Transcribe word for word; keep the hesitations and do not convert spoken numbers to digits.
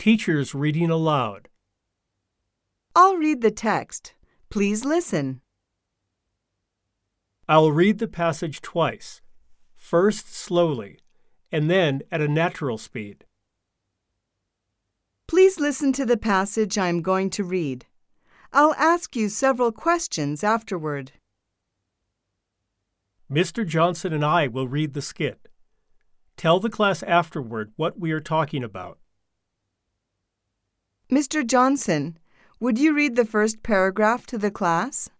Teachers reading aloud. I'll read the text. Please listen. I'll read the passage twice, first slowly, and then at a natural speed. Please listen to the passage I'm going to read. I'll ask you several questions afterward. Mister Johnson and I will read the skit. Tell the class afterward what we are talking about. Mister Johnson, would you read the first paragraph to the class?